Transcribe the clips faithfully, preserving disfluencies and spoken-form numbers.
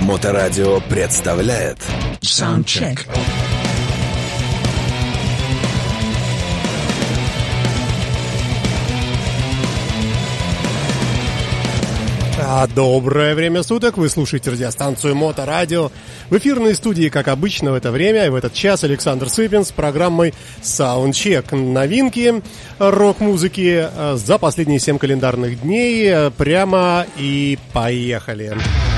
Моторадио представляет Soundcheck. Доброе время суток, вы слушаете радиостанцию Моторадио. В эфирной студии, как обычно, в это время и в этот час Александр Цыпин с программой Soundcheck. Новинки рок-музыки за последние семь календарных дней. Прямо и поехали.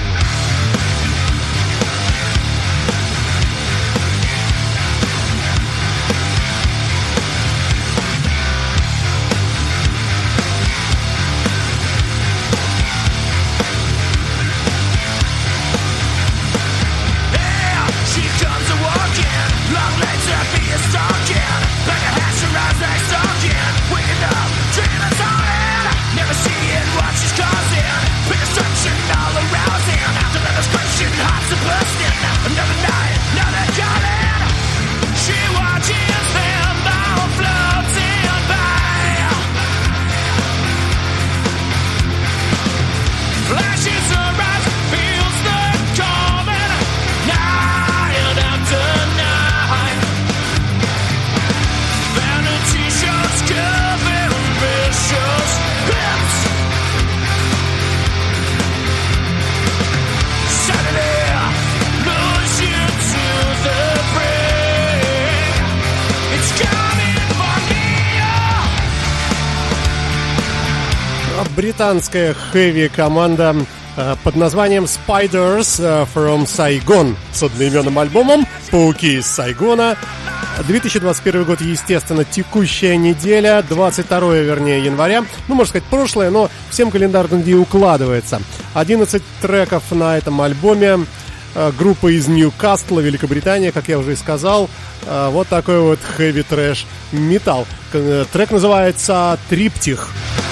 Британская хэви-команда э, под названием Spiders э, from Saigon с одноименным альбомом «Пауки из Сайгона». две тысячи двадцать первый год, естественно, текущая неделя, двадцать второго, вернее, января. Ну, можно сказать, прошлое, но всем календарным дней укладывается. одиннадцать треков на этом альбоме. Э, группа из Ньюкасла, Великобритания, как я уже и сказал. Э, вот такой вот хэви-трэш-металл. Э, трек называется «Триптих».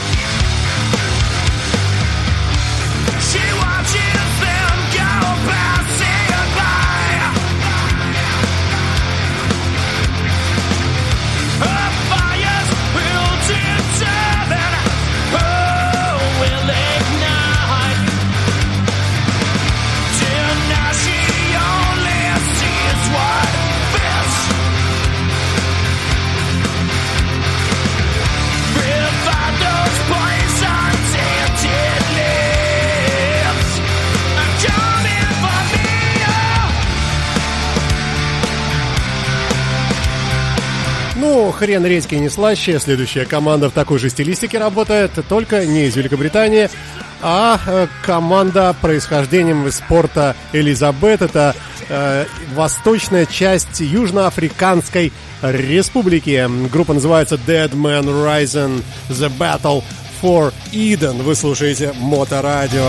Ну, хрен редьки не слаще. Следующая команда в такой же стилистике работает, только не из Великобритании, а э, команда происхождением из порта Элизабет. Это э, восточная часть Южноафриканской республики. Группа называется Dead Man Rising, The Battle for Eden. Вы слушаете Моторадио.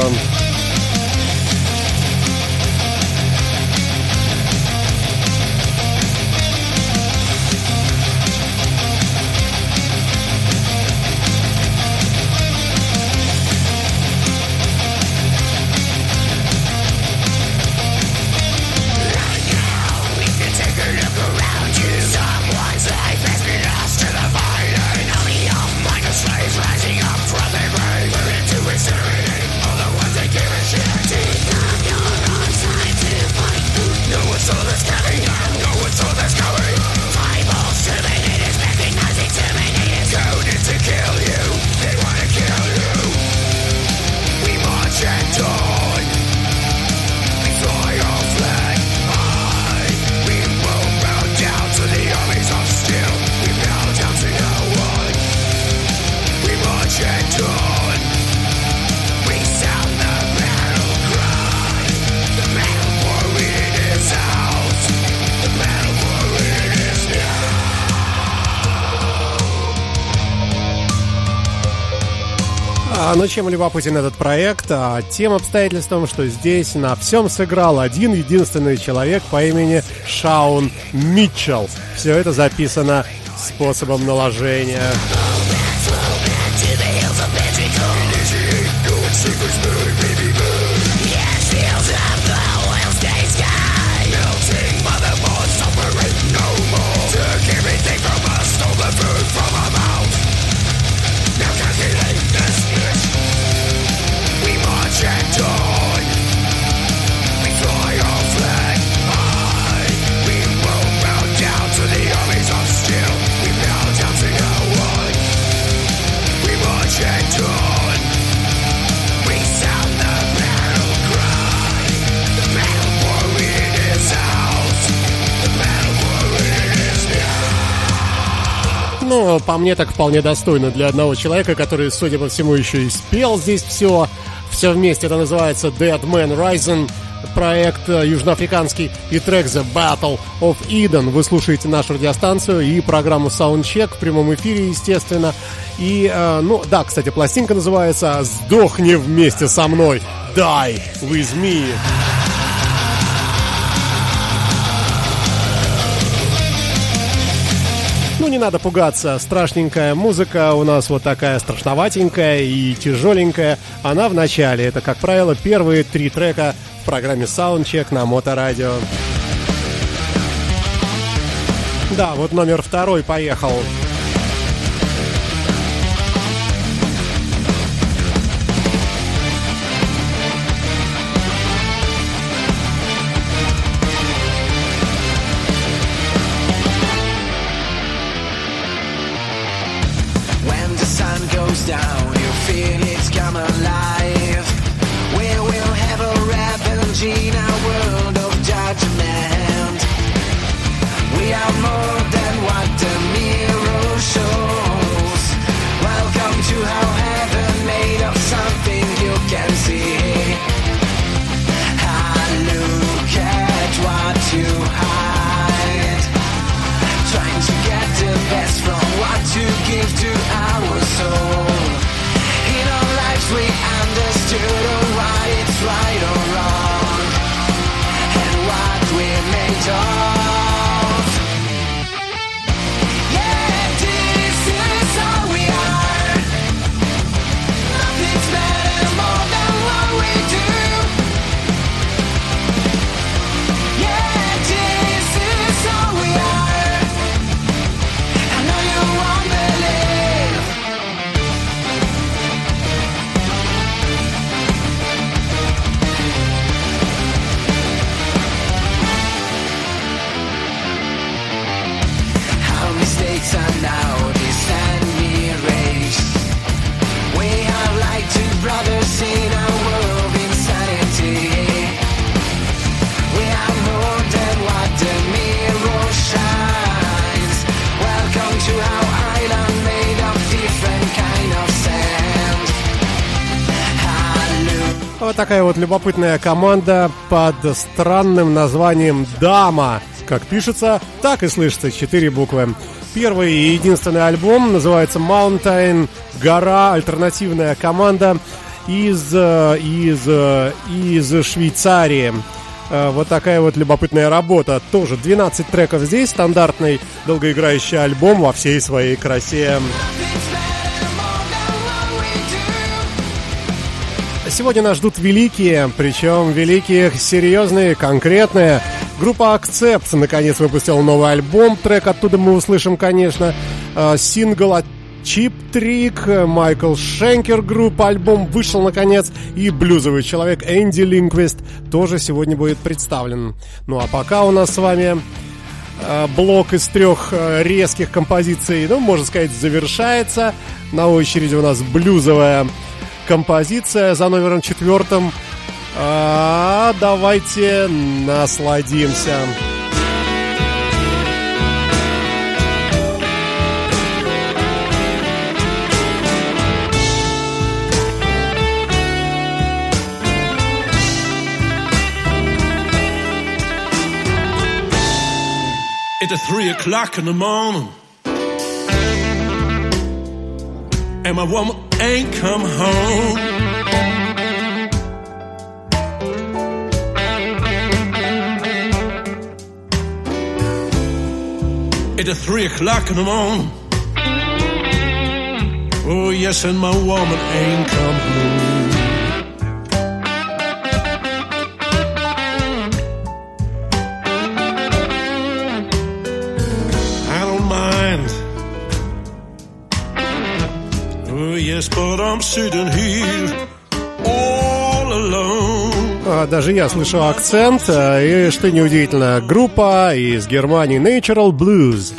Но чем любопытен этот проект? А тем обстоятельством, что здесь на всем сыграл один единственный человек по имени Шаун Митчелл. Все это записано способом наложения. Ну, по мне так вполне достойно для одного человека, который, судя по всему, еще и спел здесь все. Все вместе. Это называется Dead Man Rising. Проект южноафриканский и трек The Battle of Eden. Вы слушаете нашу радиостанцию и программу Soundcheck в прямом эфире, естественно. И, э, ну, да, кстати, пластинка называется «Сдохни вместе со мной». Die with me. Ну, не надо пугаться, страшненькая музыка у нас вот такая страшноватенькая и тяжеленькая. Она в начале, это, как правило, первые три трека в программе Soundcheck на Моторадио. Да, вот номер второй поехал. Down, you feel it's come alive. We will have a revenge in our world of judgment. We are more than what the mirror shows. Welcome to our heaven, made of something you can see. I look at what you hide, trying to get the best from what you give to our soul. We understood why it's right or wrong, and what we're made of. Yeah, this is all we are. Nothing's better, more than what we do. Yeah, this is all we are. I know you won't believe. Are now descend erased. We are like two brothers in a world of insanity. We are more than what the mirror shines. Welcome to our island made of different kind of sand. Вот такая вот любопытная команда под странным названием «Дама». Как пишется, так и слышится, четыре буквы. Первый и единственный альбом называется Mountain, гора, альтернативная команда из, из, из Швейцарии. Вот такая вот любопытная работа. Тоже двенадцать треков здесь, стандартный долгоиграющий альбом во всей своей красе. Сегодня нас ждут великие, причем великие, серьезные, конкретные. Группа Accept наконец выпустила новый альбом. Трек оттуда мы услышим, конечно. Сингл от Cheap Trick, Майкл Шенкер группа. Альбом вышел наконец. И блюзовый человек Энди Линквист тоже сегодня будет представлен. Ну а пока у нас с вами блок из трех резких композиций, ну, можно сказать, завершается. На очереди у нас блюзовая композиция за номером четвертым. А, давайте насладимся. It's three o'clock in the morning, and my woman ain't come home. It's three o'clock in the morning. Oh yes, and my woman ain't come home. I don't mind. Oh yes, but I'm sitting here all alone. Даже я слышу акцент, и, что неудивительно, группа из Германии Natural Blues.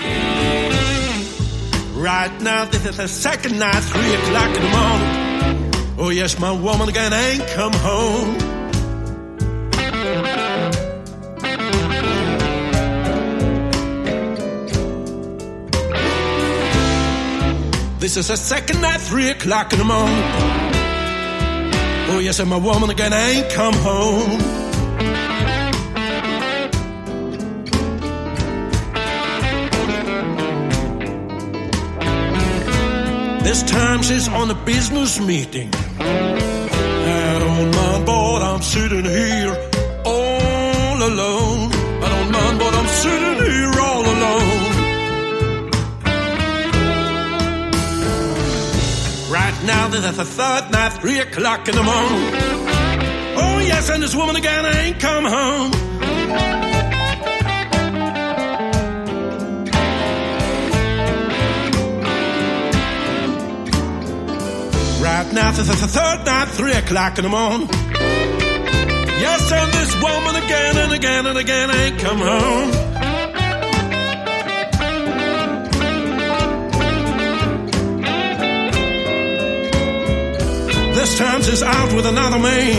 Right now, this is the second night, three o'clock in the morning. Oh yes, my woman again ain't come home. This is the second night, three o'clock in the morning. Oh, yes, and my woman again ain't come home. This time she's on a business meeting. I don't mind, but I'm sitting here all alone. I don't mind, but I'm sitting here all alone. Right now, this is the third night, three o'clock in the morning. Oh, yes, and this woman again ain't come home. Right now, this is the third night, three o'clock in the morning. Yes, and this woman again and again and again ain't come home. This time she's out with another man.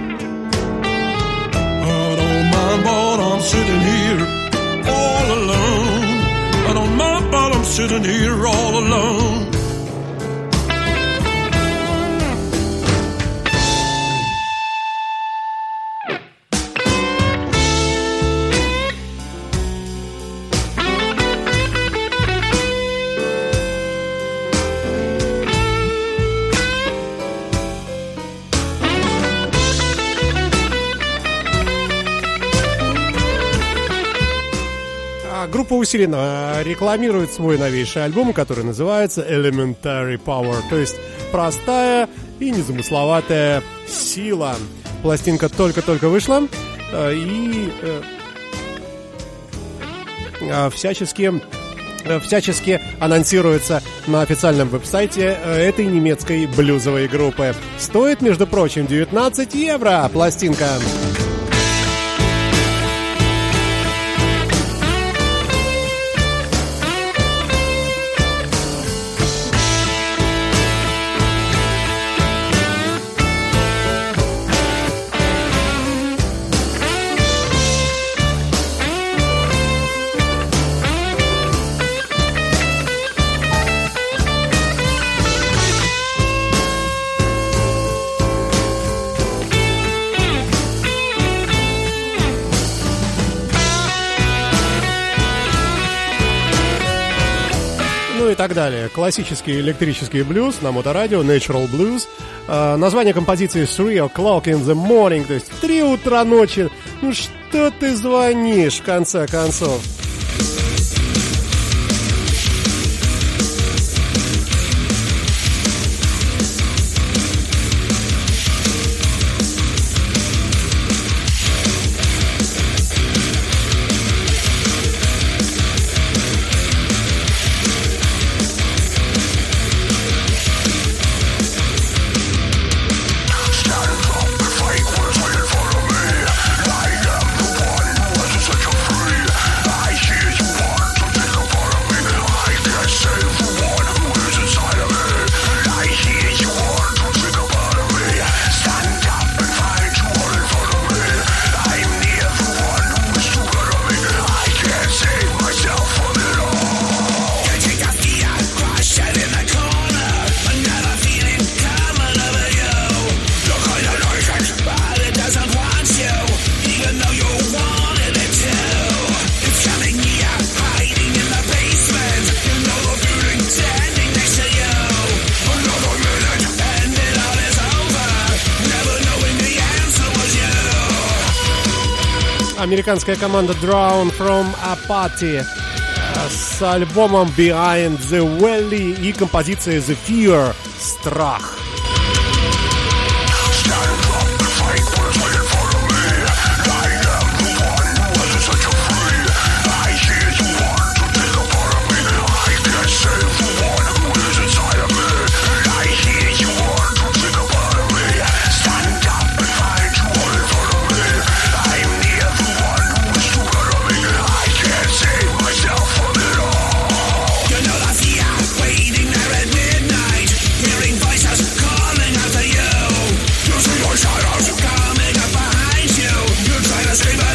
I don't mind, but I'm sitting here all alone. I don't mind, but I'm sitting here all alone. Группа усиленно рекламирует свой новейший альбом, который называется Elementary Power, то есть простая и незамысловатая сила. Пластинка только-только вышла и всячески, всячески анонсируется на официальном веб-сайте этой немецкой блюзовой группы. Стоит, между прочим, девятнадцать евро пластинка. И так далее. Классический электрический блюз на моторадио, Natural Blues. Э, название композиции Three O'Clock in the Morning, то есть в три утра ночи. Ну что ты звонишь, в конце концов? Американская команда Drawn from Apathy с альбомом Behind the Valley и композицией The Fear — Страх.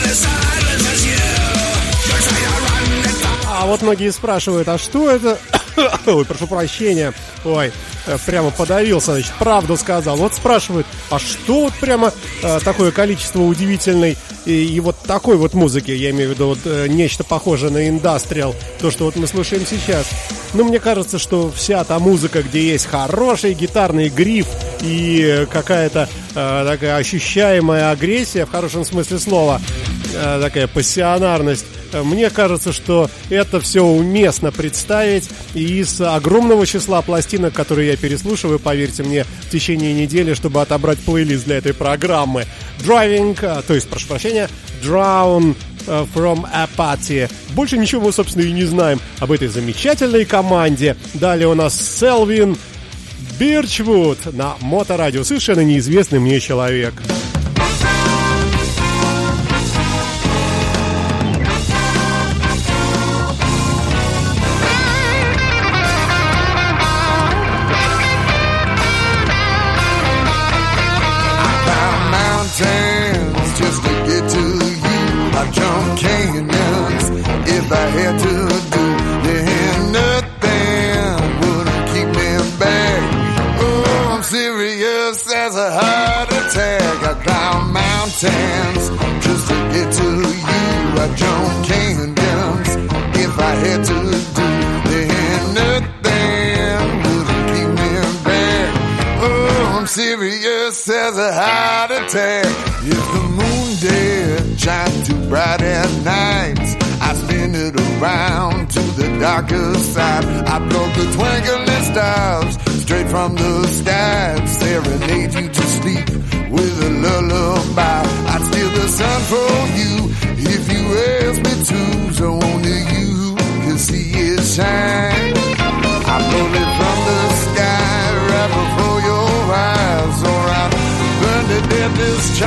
Вот многие спрашивают, а что это Ой, прошу прощения. Ой, прямо подавился, значит, правду сказал. Вот спрашивают, а что вот прямо э, такое количество удивительной и, и вот такой вот музыки, я имею в виду вот э, нечто похожее на индастриал, то, что вот мы слушаем сейчас. Ну, мне кажется, что вся та музыка, где есть хороший гитарный гриф и какая-то э, такая ощущаемая агрессия, в хорошем смысле слова, э, такая пассионарность, мне кажется, что это все уместно представить и из огромного числа пластинок, которые я переслушиваю, поверьте мне, в течение недели, чтобы отобрать плейлист для этой программы. Driving, то есть, прошу прощения, Drown from Apathy. Больше ничего мы, собственно, и не знаем об этой замечательной команде. Далее у нас Селвин Бирчвуд на Моторадио. Совершенно неизвестный мне человек. Just to get to you, I jump canyons. If I had to do, then nothing would keep me back. Oh, I'm serious as a heart attack. I climb mountains just to get to you. I jump canyons. If I had to do, then nothing would keep me back. Oh, I'm serious as a heart attack. If the moon did shine too bright at night, I spin it around to the darker side. I plug the twinkling stars straight from the sky, serenade you to sleep with a lullaby. I'd steal the sun for you if you asked me to, so only you can see it shine. I pull it from the sky right before your eyes, or I burn to death this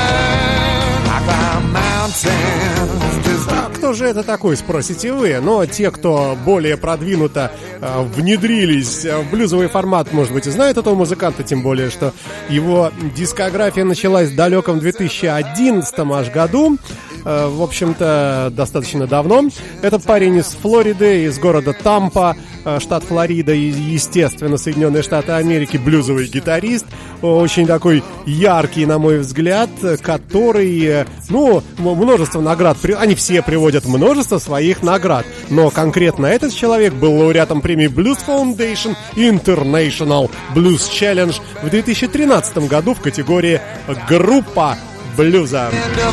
time. I climb mountains just to... А кто же это такой, спросите вы? Но те, кто более продвинуто э, внедрились в блюзовый формат, может быть, и знают этого музыканта, тем более, что его дискография началась в далеком две тысячи одиннадцатом аж году. Э, в общем-то, достаточно давно. Этот парень из Флориды, из города Тампа, э, штат Флорида, и, естественно, Соединенные Штаты Америки, блюзовый гитарист. Очень такой яркий, на мой взгляд, который, ну, множество наград, они все приводят множество своих наград, но конкретно этот человек был лауреатом премии Blues Foundation International Blues Challenge в две тысячи тринадцатом году в категории «Группа блюза».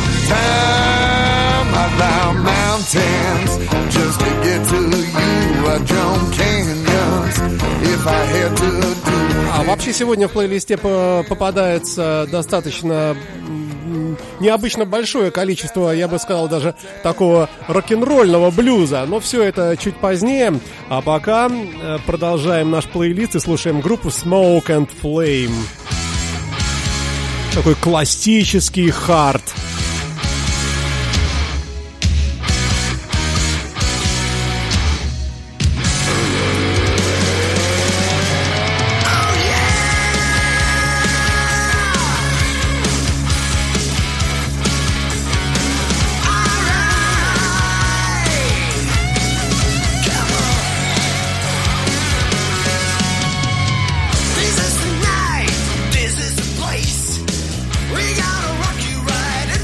А вообще сегодня в плейлисте попадается достаточно необычно большое количество, я бы сказал, даже такого рок-н-ролльного блюза. Но все это чуть позднее. А пока продолжаем наш плейлист и слушаем группу Smoke and Flame. Такой классический хард. We gotta rock you right.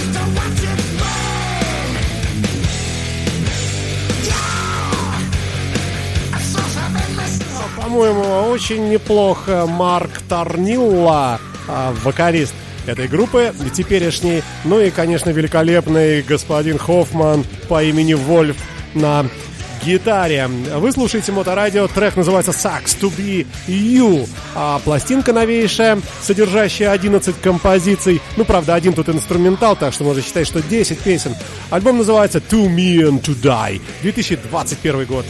По-моему, очень неплохо Марк Торнилла, вокалист этой группы, теперешний. Ну и, конечно, великолепный господин Хоффман по имени Вольф на гитаре. Вы слушаете Моторадио, трек называется Sucks to be You, а пластинка новейшая, содержащая одиннадцать композиций. Ну, правда, один тут инструментал, так что можно считать, что десять песен. Альбом называется To Me and To Die, две тысячи двадцать первый год.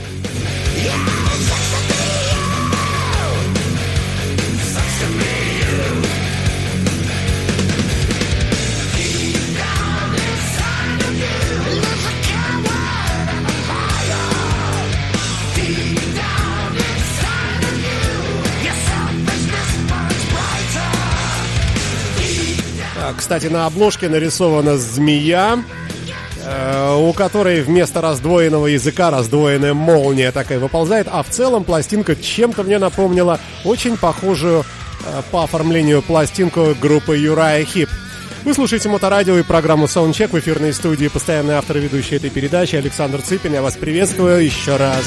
Кстати, на обложке нарисована змея, э, у которой вместо раздвоенного языка раздвоенная молния такая выползает. А в целом пластинка чем-то мне напомнила очень похожую э, по оформлению пластинку группы Uriah Heep. Вы слушаете Моторадио и программу Soundcheck в эфирной студии. Постоянный автор и ведущий этой передачи Александр Цыпин. Я вас приветствую еще раз.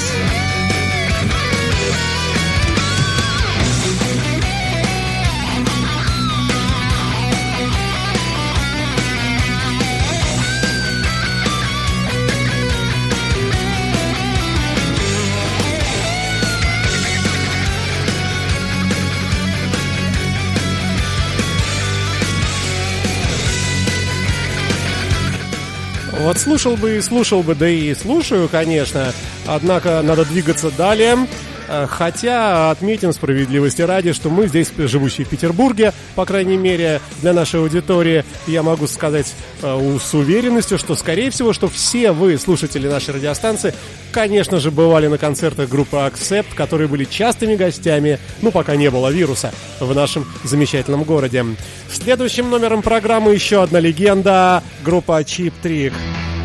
Вот слушал бы и слушал бы, да и слушаю, конечно. Однако надо двигаться далее. Хотя отметим справедливости ради, что мы здесь, живущие в Петербурге, по крайней мере, для нашей аудитории, я могу сказать э, с уверенностью, что, скорее всего, что все вы, слушатели нашей радиостанции, конечно же, бывали на концертах группы Accept, которые были частыми гостями, ну, пока не было вируса, в нашем замечательном городе. Следующим номером программы еще одна легенда, группа Cheap Trick.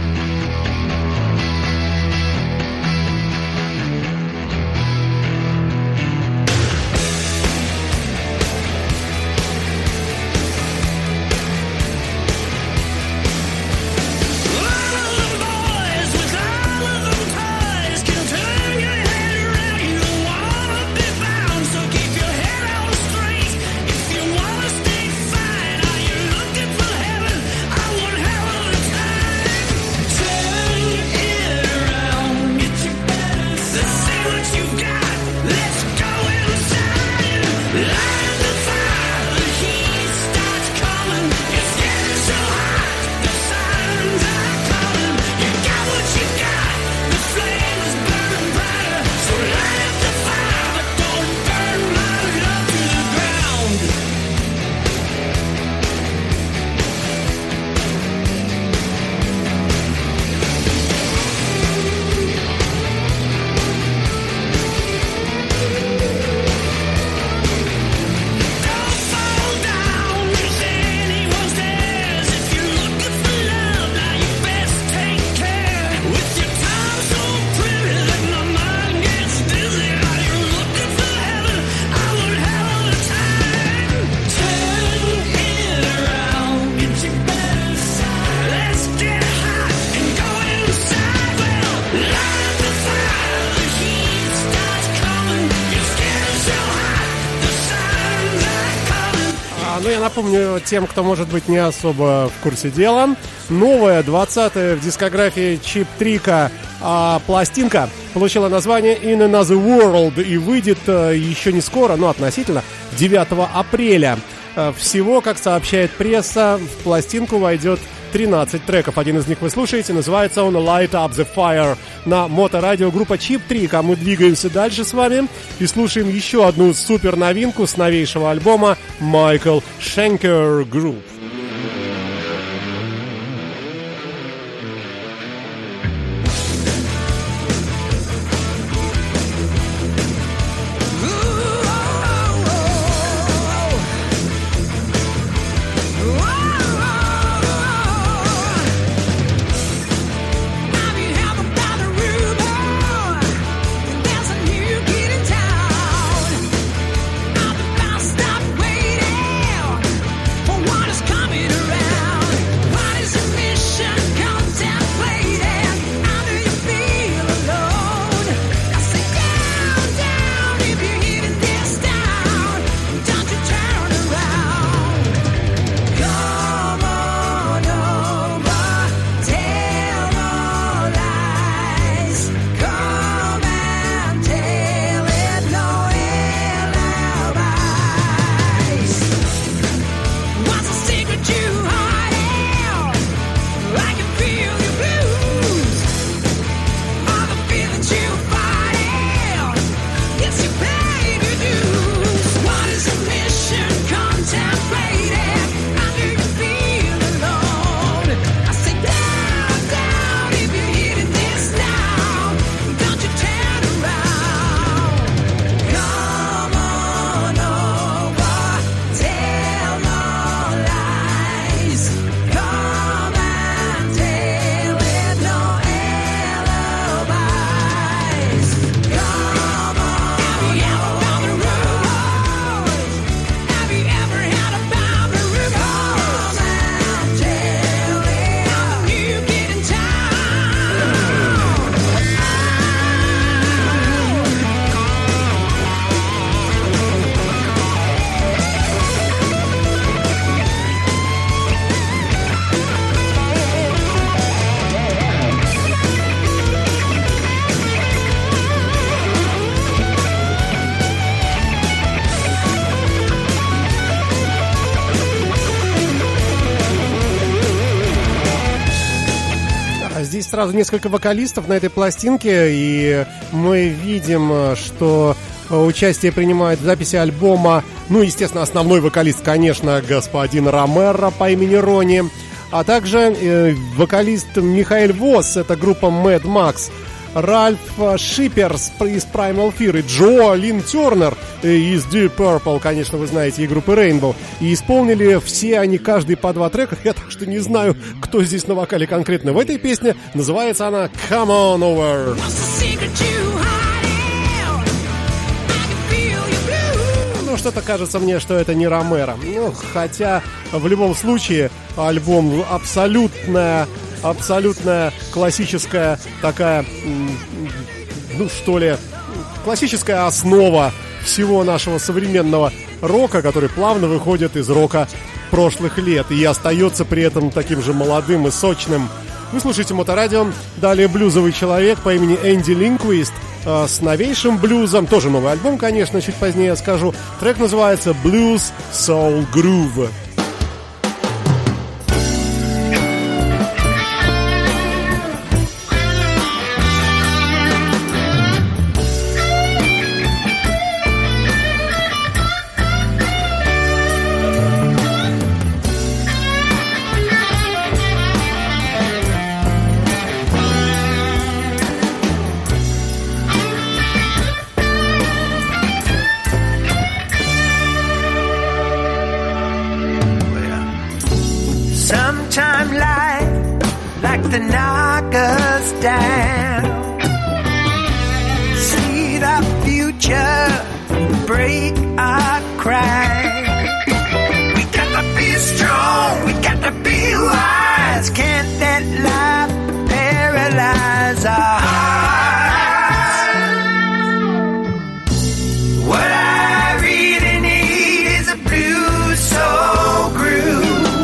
Напомню тем, кто, может быть, не особо в курсе дела, новая, двадцатая в дискографии Cheap Trick а, пластинка получила название In Another World и выйдет а, еще не скоро, но относительно девятого апреля. А, всего, как сообщает пресса, в пластинку войдет тринадцать треков. Один из них вы слушаете, называется он Light Up The Fire на Моторадио, группа Cheap Trick. А мы двигаемся дальше с вами и слушаем еще одну супер новинку с новейшего альбома Michael Schenker Group. What is coming? здесь сразу несколько вокалистов на этой пластинке, и мы видим, что участие принимает в записи альбома, ну, естественно, основной вокалист, конечно, господин Ромеро по имени Ронни, а также э, вокалист Михаэль Восс, это группа Mad Max, Ральф Шиперс из Primal Fear и Джо Лин Тернер из Deep Purple, конечно, вы знаете, и группы Rainbow. И исполнили все они, каждый по два трека. Я так что не знаю, кто здесь на вокале конкретно в этой песне. Называется она Come On Over. Ну, что-то кажется мне, что это не Ромеро. Ну, хотя, в любом случае, альбом абсолютная... Абсолютная классическая такая, ну что ли, классическая основа всего нашего современного рока, который плавно выходит из рока прошлых лет и остается при этом таким же молодым и сочным. Вы слушаете Моторадио. Далее блюзовый человек по имени Энди Линквист э, с новейшим блюзом. Тоже новый альбом, конечно, чуть позднее я скажу. Трек называется Blues Soul Groove. To knock us down, see the future break our cry. We got to be strong, we got to be wise. Can't let life paralyze our hearts. What I really need is a blue soul groove.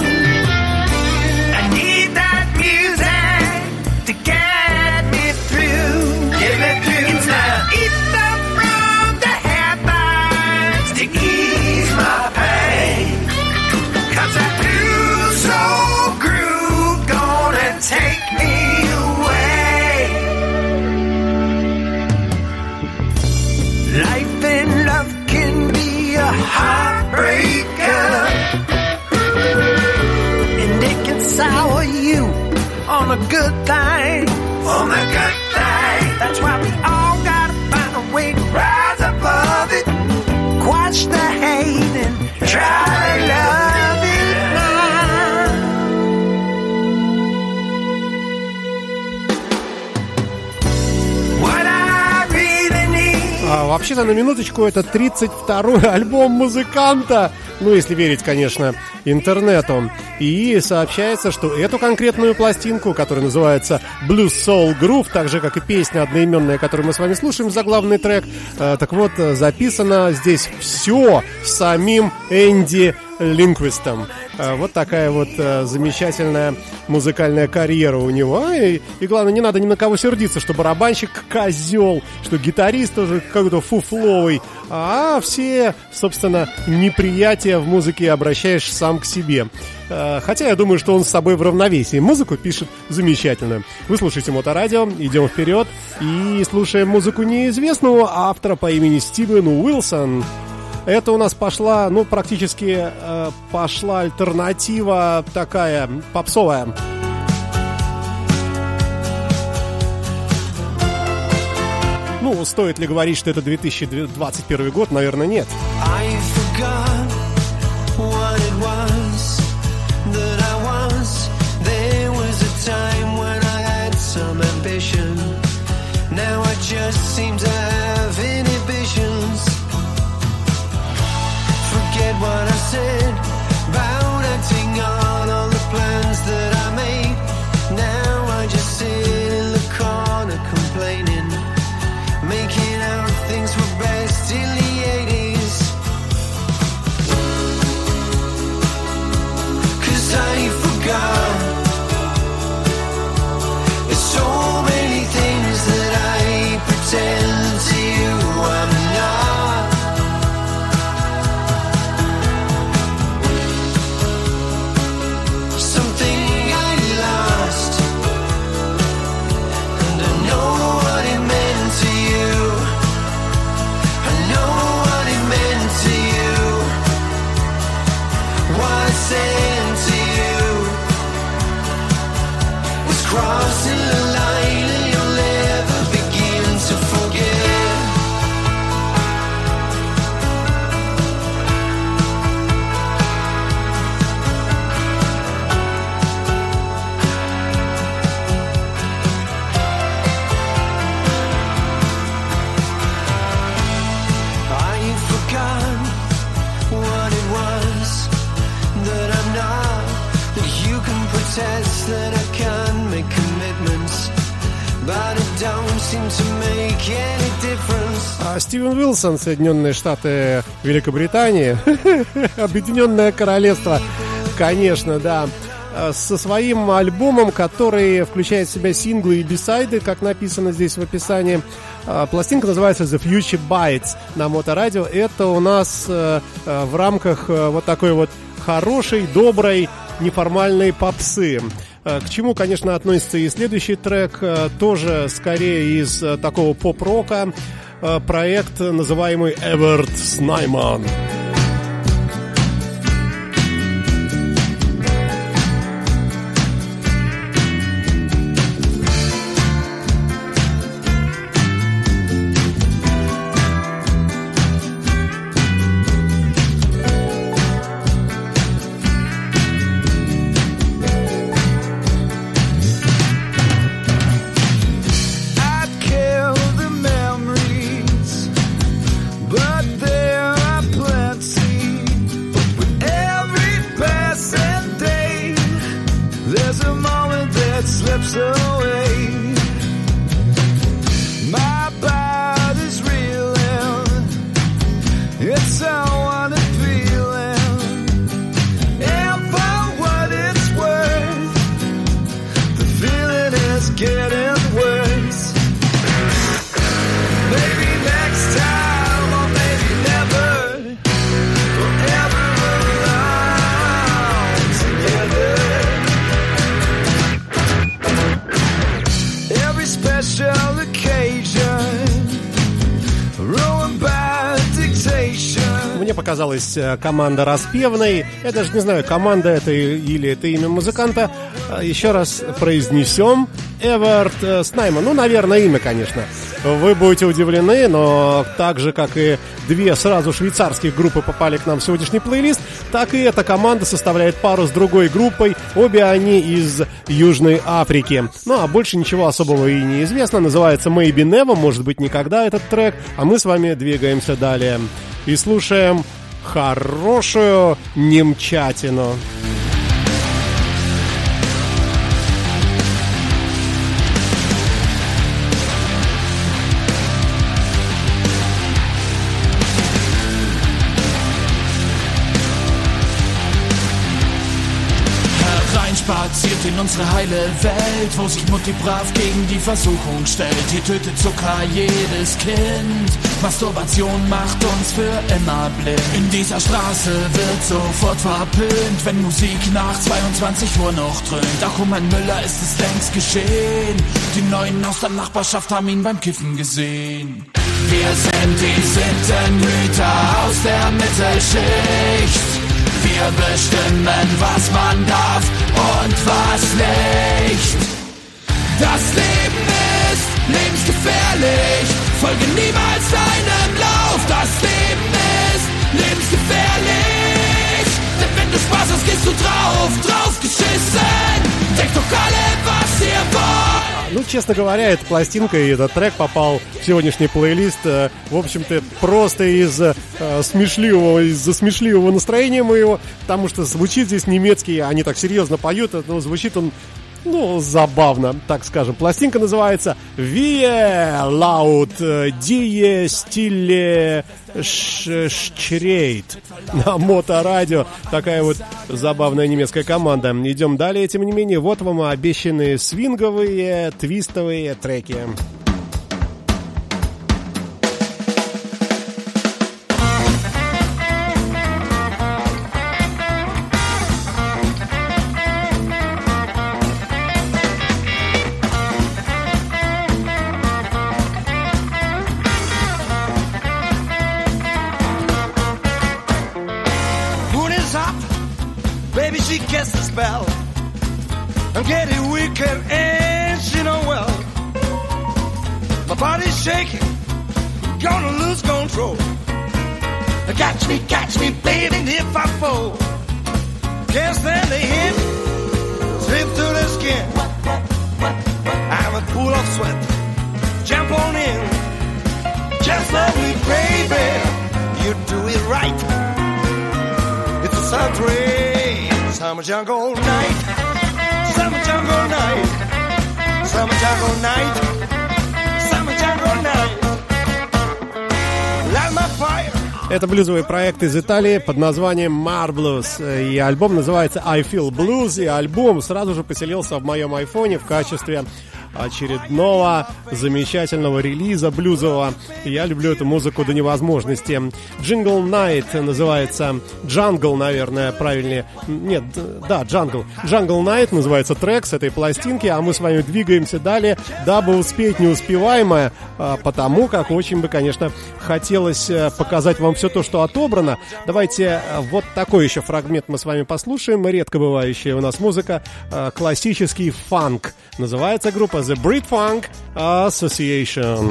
Heartbreaker, and it can sour you on a good thing, on a good thing. That's why we all gotta find a way to rise above it, quash the hate and try to love it now. What I really need. А, вообще-то, на минуточку, это тридцать второй альбом музыканта, ну, если верить, конечно, интернету. И сообщается, что эту конкретную пластинку, которая называется Blues Soul Groove, так же, как и песня одноименная, которую мы с вами слушаем, заглавный трек, э, так вот, записано здесь все самим Энди Линквистом. Вот такая вот э, замечательная музыкальная карьера у него. И, и главное, не надо ни на кого сердиться, что барабанщик козел, что гитарист тоже какой-то фуфловый, а все, собственно, неприятия в музыке обращаешь сам к себе. Э, хотя я думаю, что он с собой в равновесии. Музыку пишет замечательную. Вы слушаете Моторадио, идем вперед и слушаем музыку неизвестного автора по имени Стивен Уилсон. Это у нас пошла, ну, практически э, пошла альтернатива такая, попсовая. Ну, стоит ли говорить, что это две тысячи двадцать первый год? Наверное, нет. Forget what I said about acting on all the plans that I made. Now I just sit in the corner complaining, making out things were best in the eighties. Cause I forgot there's so many things that I pretend to crossing the line and you'll never begin to forget. I forgot what it was that I'm not, that you can protest, that I can make commitments, but it don't seem to make any difference. А Стивен Уилсон, Соединенные Штаты Великобритании, Объединенное Королевство, конечно, да, со своим альбомом, который включает в себя синглы и бисайды, как написано здесь в описании. Пластинка называется The Future Bites на Моторадио. Это у нас в рамках вот такой вот хорошей, доброй, неформальной попсы. К чему, конечно, относится и следующий трек, тоже скорее из такого поп-рока, проект, называемый Эверт Снайман. Показалась команда распевной. Я даже не знаю, команда это или это имя музыканта. Еще раз произнесем. Эверт Снайман. Ну, наверное, имя, конечно. Вы будете удивлены, но так же, как и две сразу швейцарских группы попали к нам в сегодняшний плейлист, так и эта команда составляет пару с другой группой. Обе они из Южной Африки. Ну, а больше ничего особого и не известно. Называется Maybe Never, может быть, никогда этот трек. А мы с вами двигаемся далее и слушаем хорошую немчатину. Spaziert in unsere heile Welt, wo sich Mutti brav gegen die Versuchung stellt. Hier tötet Zucker jedes Kind. Masturbation macht uns für immer blind. In dieser Straße wird sofort verpönt, wenn Musik nach zweiundzwanzig Uhr noch dröhnt. Auch um einen Müller ist es längst geschehen. Die Neuen aus der Nachbarschaft haben ihn beim Kiffen gesehen. Wir sind die Sittenhüter aus der Mittelschicht. Wir bestimmen, was man darf und was nicht. Das Leben ist lebensgefährlich. Folge niemals deinem Lauf. Das Leben ist lebensgefährlich. Denn wenn du Spaß hast, gehst du drauf, drauf geschissen. Denkt doch alle, was ihr wollt. Ну, честно говоря, эта пластинка и этот трек попал в сегодняшний плейлист, в общем-то, просто из э, смешливого, из-за смешливого настроения моего, потому что звучит здесь немецкий, они так серьезно поют, но звучит он, ну, забавно, так скажем. Пластинка называется «Wie laut die Stille schreit» на Моторадио. Такая вот забавная немецкая команда. Идем далее, тем не менее, вот вам обещанные свинговые, твистовые треки. Baby, she casts a spell. I'm getting weaker and My body's shaking, gonna lose control. Catch me, catch me, baby, if I fall. Can't stand the heat, slip through the skin. I'm a pool of sweat, jump on in. Just love me, baby, you do it right. It's a summer rain, summer jungle night, summer jungle night, summer jungle night, summer jungle night. Light my fire. Это блюзовый проект из Италии под названием Marvelous. И альбом называется I Feel Blues. И альбом сразу же поселился в моем айфоне в качестве очередного замечательного релиза блюзового. Я люблю эту музыку до невозможности. Jingle Night называется. Jungle, наверное, правильнее. Нет, да, Jungle. Jungle Night называется трек с этой пластинки. А мы с вами двигаемся далее, дабы успеть неуспеваемое. Потому как очень бы, конечно, хотелось показать вам все то, что отобрано. Давайте вот такой еще фрагмент мы с вами послушаем. Редко бывающая у нас музыка. Классический фанк. Называется группа The Brit Funk Association.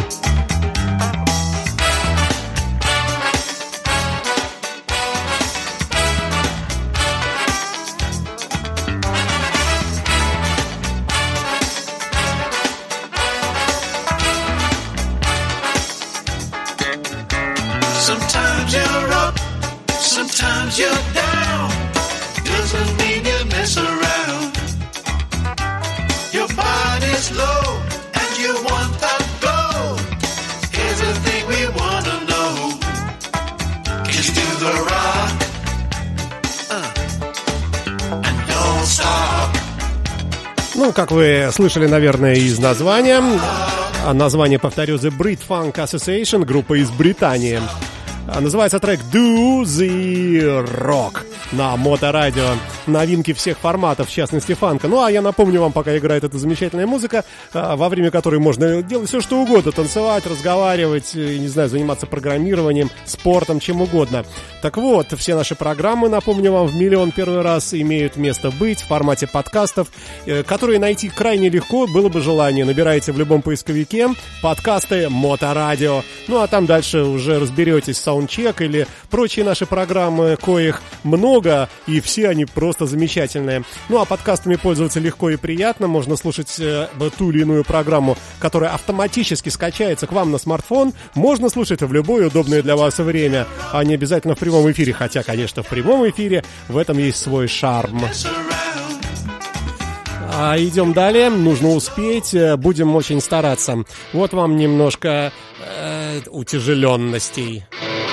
Sometimes you're up, sometimes you're down. Doesn't mean you mess around. Your body's low and you want that glow. Here's the thing we wanna know. Just do the rock uh, and don't stop. Ну, как вы слышали, наверное, из названия. А название, повторю, The Brit Funk Association, группа из Британии. Называется трек Do the Rock на Моторадио. Новинки всех форматов, в частности фанка. Ну а я напомню вам, пока играет эта замечательная музыка, во время которой можно делать все, что угодно. Танцевать, разговаривать, не знаю, заниматься программированием, спортом, чем угодно. Так вот, все наши программы, напомню вам, в миллион первый раз имеют место быть в формате подкастов, которые найти крайне легко, было бы желание. Набираете в любом поисковике подкасты Моторадио. Ну а там дальше уже разберетесь, саундчек или прочие наши программы, коих много, и все они просто замечательные. Ну а подкастами пользоваться легко и приятно. Можно слушать э, ту или иную программу, которая автоматически скачается к вам на смартфон. Можно слушать в любое удобное для вас время, а не обязательно в прямом эфире. Хотя, конечно, в прямом эфире в этом есть свой шарм. А идем далее. Нужно успеть. Будем очень стараться. Вот вам немножко э, утяжеленностей.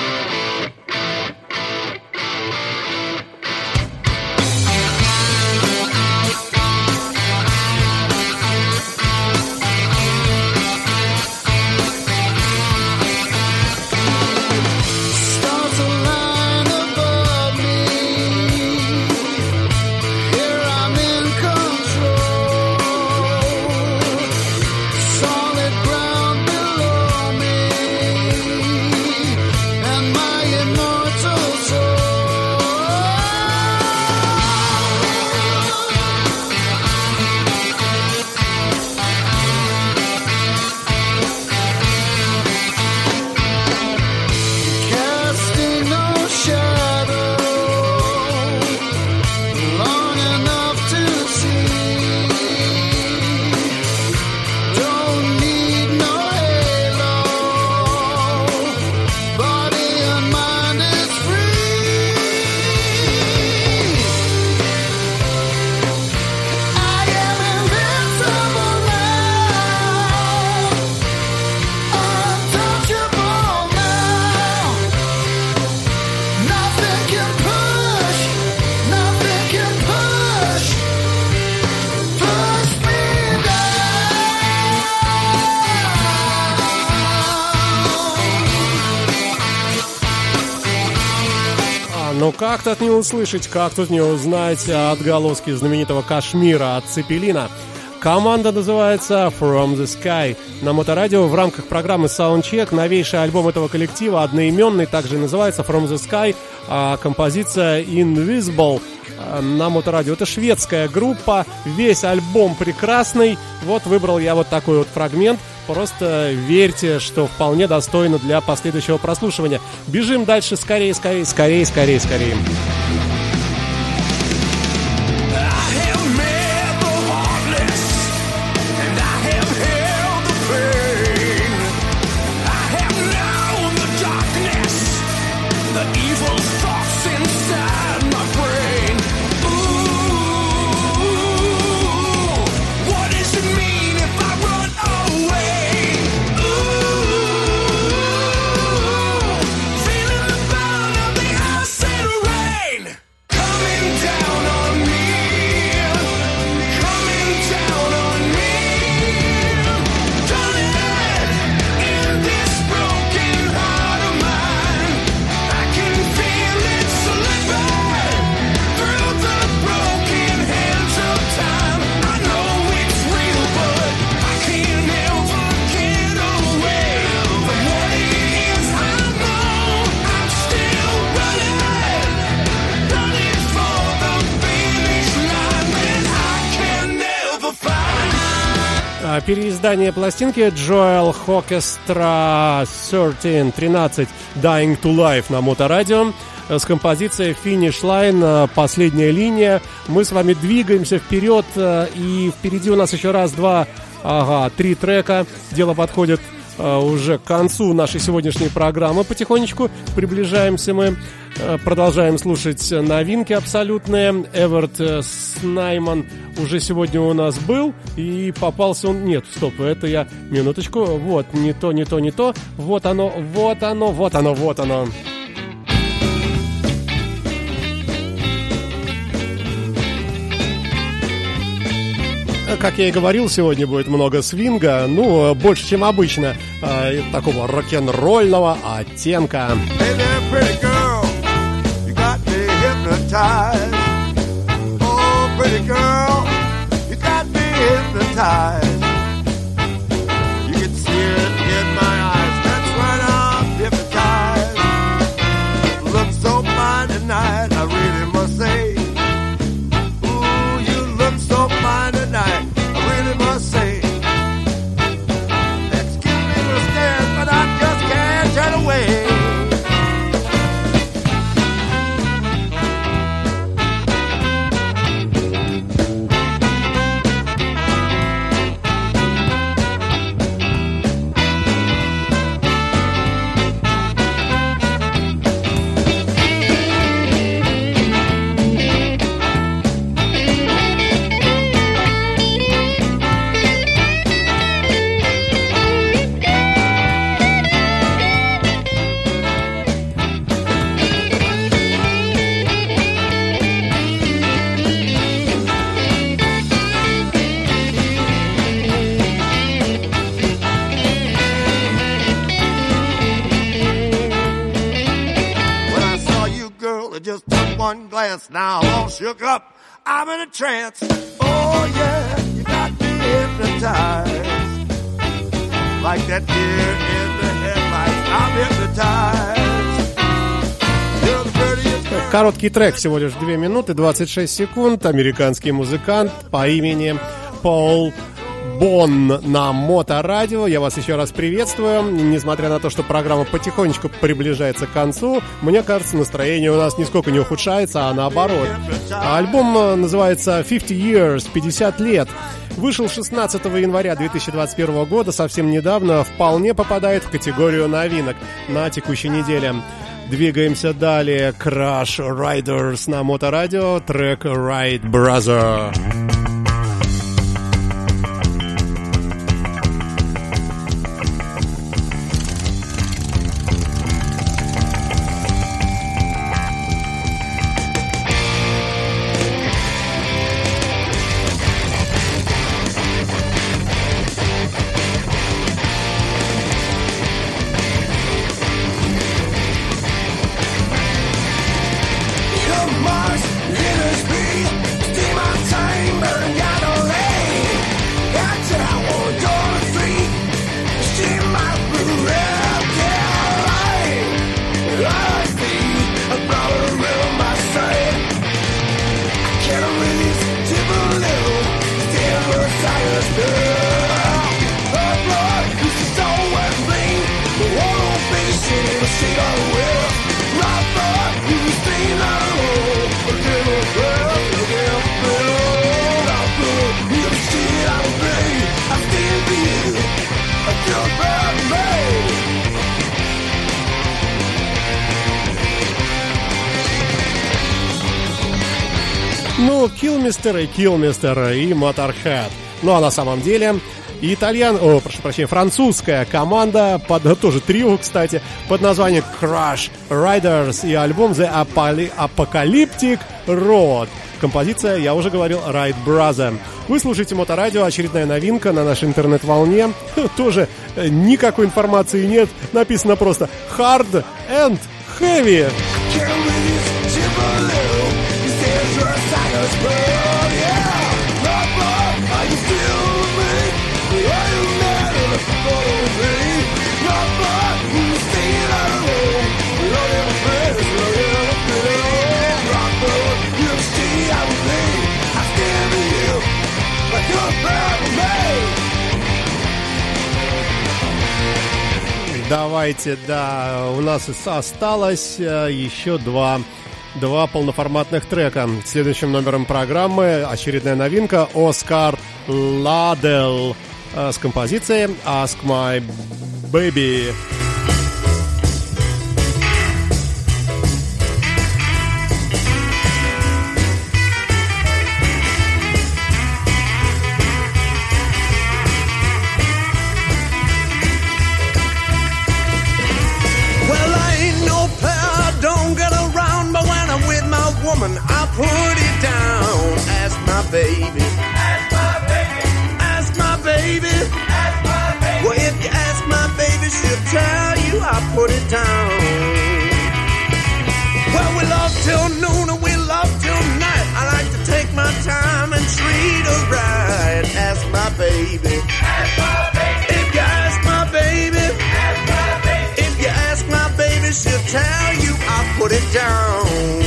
Ну как тут не услышать, как тут не узнать отголоски знаменитого Кашмира от Цепелина. Команда называется From the Sky. На Моторадио в рамках программы Soundcheck новейший альбом этого коллектива, одноименный, также называется From the Sky, а композиция Invisible. на Моторадио. Это шведская группа, весь альбом прекрасный. Вот выбрал я вот такой вот фрагмент. Просто верьте, что вполне достойно для последующего прослушивания. Бежим дальше, скорее, скорее, скорее, скорее, скорее. Переиздание пластинки Joel Orchestra тринадцать тринадцать Dying to Life на Моторадио с композицией Finish Line, последняя линия. Мы с вами двигаемся вперед, и впереди у нас еще раз, два, ага, три трека. Дело подходит уже к концу нашей сегодняшней программы. Потихонечку приближаемся мы. Продолжаем слушать новинки абсолютные. Эверт Снайман уже сегодня у нас был, и попался он... Нет, стоп, это я... Минуточку. Вот, не то, не то, не то. Вот оно, вот оно, вот оно, вот оно. Как я и говорил, сегодня будет много свинга, ну, больше, чем обычно, э, такого рок-н-ролльного оттенка. Hey there, pretty girl, you got me hypnotized. Oh, pretty girl, you got me hypnotized. You can see it in my eyes, that's right, I'm hypnotized. Look so fine tonight, I really must say. Ooh, you look so fine tonight, I really must say. Excuse me for staring, but I just can't turn away. One glance now, I'm all shook up. I'm in a trance. Oh yeah, you got me hypnotized. Like that deer in the headlights, I'm hypnotized. You're the prettiest girl. Короткий трек, всего лишь две минуты двадцать шесть секунд. Американский музыкант по имени Пол Бон на Моторадио. Я вас еще раз приветствую. Несмотря на то, что программа потихонечку приближается к концу, мне кажется, настроение у нас нисколько не ухудшается, а наоборот. Альбом называется fifty years, пятьдесят лет. Вышел шестнадцатого января две тысячи двадцать первого года, совсем недавно. Вполне попадает в категорию новинок на текущей неделе. Двигаемся далее. Crash Riders на Моторадио. Трек Ride Brother. Mars, in a speed, steam on time. трио Killmister и Killmister и Motorhead. Ну а на самом деле итальян, о, прошу прощения, французская команда, под, тоже трио, кстати, под названием Crash Riders и альбом The Apocalyptic Road. Композиция, я уже говорил, Ride Brother. Вы слушаете Моторадио, очередная новинка на нашей интернет-волне. Тоже никакой информации нет, написано просто Hard and Heavy. Давайте, да, у нас осталось еще два, два полноформатных трека. Следующим номером программы очередная новинка Оскар Ладел с композицией Ask My Baby. I put it down. Ask my baby. Ask my baby. Ask my baby. Ask my baby. Well, if you ask my baby, she'll tell you I put it down. Well, we love till noon and we love till night. I like to take my time and treat her right. Ask my baby. Ask my baby. If you ask my baby. Ask my baby. If you ask my baby, she'll tell you I put it down.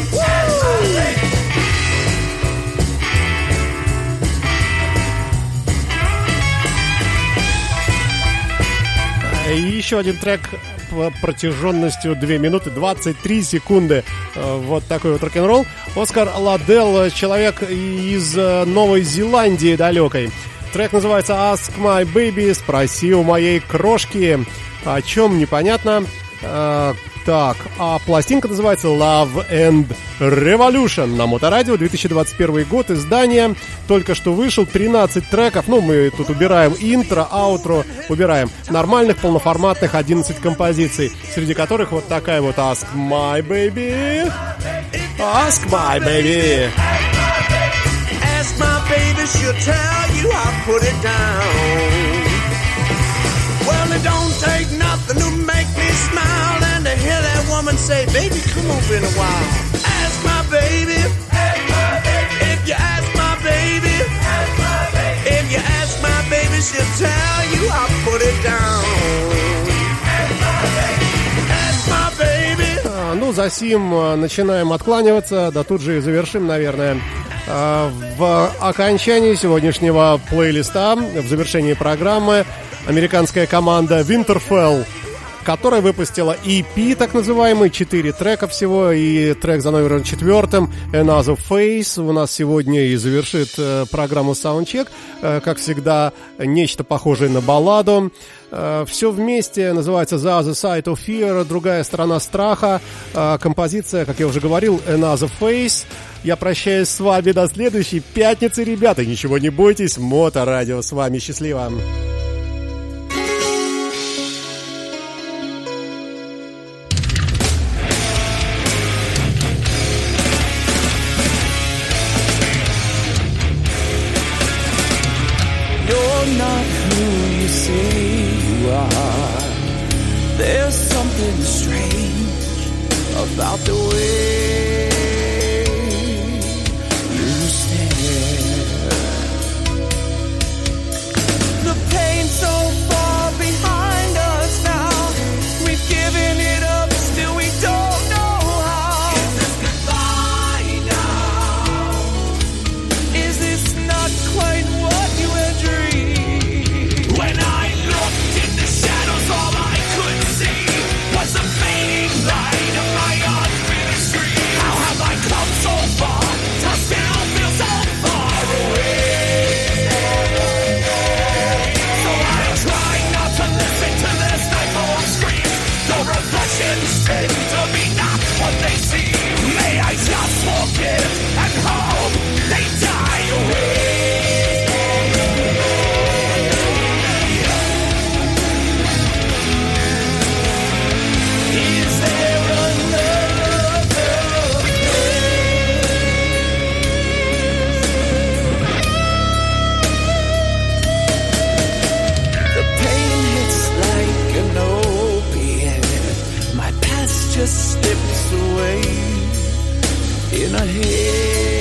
И еще один трек протяженностью две минуты двадцать три секунды. Вот такой вот рок-н-ролл. Оскар Ладел, человек из Новой Зеландии далекой. Трек называется Ask My Baby, спроси у моей крошки. О чем непонятно. Так, а пластинка называется Love and Revolution на Моторадио, две тысячи двадцать первый год, издание, только что вышел, тринадцать треков, ну мы тут убираем интро, аутро, убираем нормальных полноформатных одиннадцать композиций, среди которых вот такая вот Ask My Baby, Ask My Baby. Ask my baby, she'll tell you I put it down. Well, it don't take nothing to make me smile, and to hear that woman say, baby, come over in a while. Ask my baby. Ask my baby. If you ask my baby. Ask my baby. If you ask my baby, she'll tell you I put it down. Ask my baby. Ask my baby. А, ну, за сим начинаем откланиваться, да тут же и завершим, наверное. В окончании сегодняшнего плейлиста, в завершении программы, американская команда Winterfell, которая выпустила и пи, так называемый, четыре трека всего, и трек за номером четвертым Another Face у нас сегодня и завершит э, программу Soundcheck, э, как всегда, нечто похожее на балладу. Э, все вместе называется The Other Side of Fear, другая сторона страха. Э, композиция, как я уже говорил, Another Face. Я прощаюсь с вами до следующей пятницы, ребята. Ничего не бойтесь, Моторадио с вами. Счастливо! Not who you say you are. There's something strange about the way you stare. The pain's so far behind us now. We've given it up, still we don't know how. Is this goodbye now? Is this not quite what you had dreamed? When I looked in the shadows, all I could see was a fading light of my unfinished dream. away in a haze.